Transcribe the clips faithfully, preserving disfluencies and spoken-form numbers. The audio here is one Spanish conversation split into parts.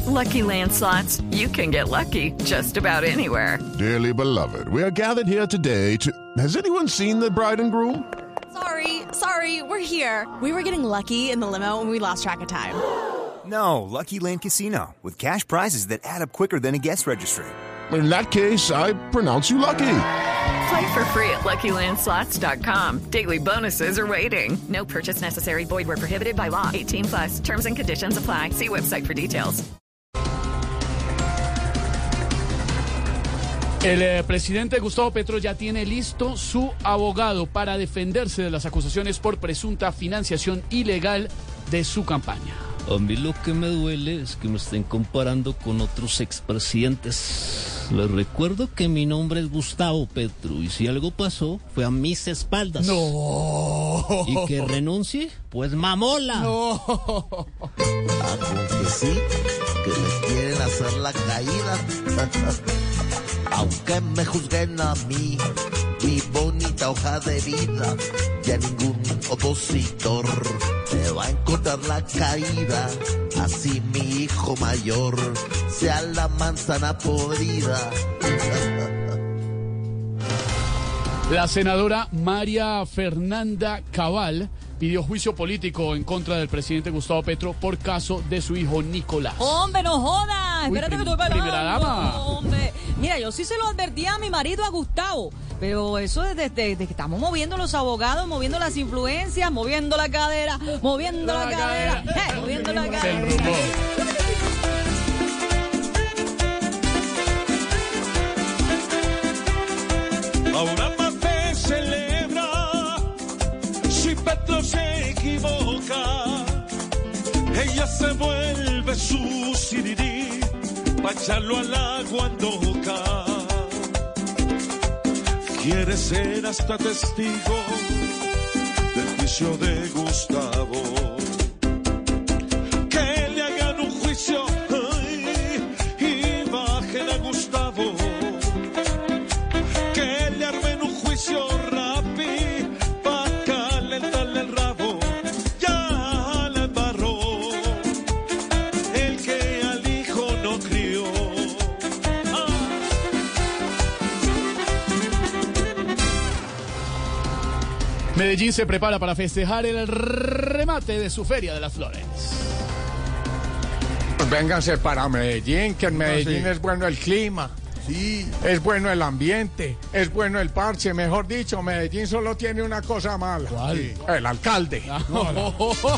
Lucky Land Slots, you can get lucky just about anywhere. Dearly beloved, we are gathered here today to... Has anyone seen the bride and groom? Sorry, sorry, we're here. We were getting lucky in the limo and we lost track of time. No, Lucky Land Casino, with cash prizes that add up quicker than a guest registry. In that case, I pronounce you lucky. Play for free at Lucky Land Slots dot com. Daily bonuses are waiting. No purchase necessary. Void where prohibited by law. eighteen plus. Terms and conditions apply. See website for details. El eh, presidente Gustavo Petro ya tiene listo su abogado para defenderse de las acusaciones por presunta financiación ilegal de su campaña. A mí lo que me duele es que me estén comparando con otros expresidentes. Les recuerdo que mi nombre es Gustavo Petro y si algo pasó fue a mis espaldas. No. ¿Y que renuncie? Pues mamola. No. Aunque sí, que me quieren hacer la caída. Aunque me juzguen a mí, mi bonita hoja de vida, ya ningún opositor me va a encontrar la caída. Así mi hijo mayor sea la manzana podrida. La senadora María Fernanda Cabal pidió juicio político en contra del presidente Gustavo Petro por caso de su hijo Nicolás. ¡Hombre, no jodas! Uy, Espérate prim- que estoy pelando. primera dama. Hombre, mira, yo sí se lo advertí a mi marido, a Gustavo, pero eso es desde, desde que estamos moviendo los abogados, moviendo las influencias, moviendo la cadera, moviendo la, La cadera, cadera. eh, moviendo la Se cadera. enrumbó. Ahora más se celebra si Petro se equivoca. Ella se vuelve su sirirí pa' echarlo al agua en boca. Quiere ser hasta testigo del juicio de Gustavo. Que le hagan un juicio ay, y bajen a Gustavo. Que le armen un juicio rápido pa' calentarle el rabo. Ya le embarró el que al hijo no crió. Ah. Medellín se prepara para festejar el remate de su Feria de las Flores. Vénganse para Medellín, que en Medellín sí. es bueno el clima, Sí. es bueno el ambiente, es bueno el parche. Mejor dicho, Medellín solo tiene una cosa mala. ¿Cuál? Sí, el alcalde. No, no.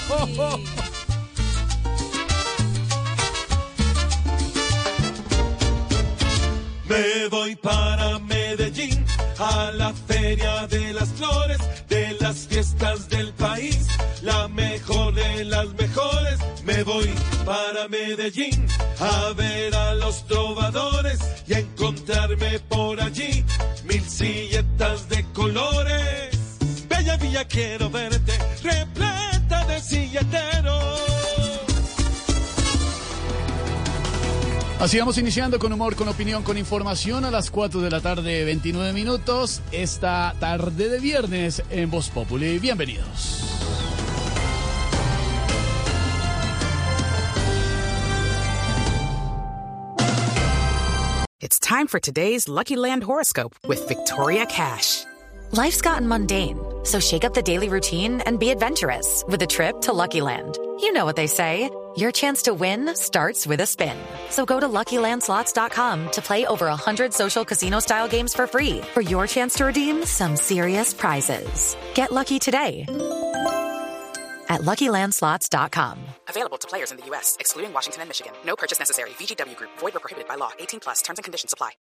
Me voy para Medellín, a la Feria de las Flores, de las fiestas del país, la mejor de las mejores. Me voy para Medellín, a ver a los trovadores y a encontrarme por allí mil silletas de colores. Bella villa quiero verte, repleta de silleteros. Así vamos iniciando con humor, con opinión, con información a las cuatro de la tarde, veintinueve minutos, esta tarde de viernes en Voz Populi. Bienvenidos. It's time for today's Lucky Land horoscope with Victoria Cash. Life's gotten mundane, so shake up the daily routine and be adventurous with a trip to Lucky Land. You know what they say, your chance to win starts with a spin. So go to Lucky Land Slots dot com to play over one hundred social casino-style games for free for your chance to redeem some serious prizes. Get lucky today at Lucky Land Slots dot com. Available to players in the U S, excluding Washington and Michigan. No purchase necessary. V G W Group. Void where prohibited by law. eighteen plus. Terms and conditions apply.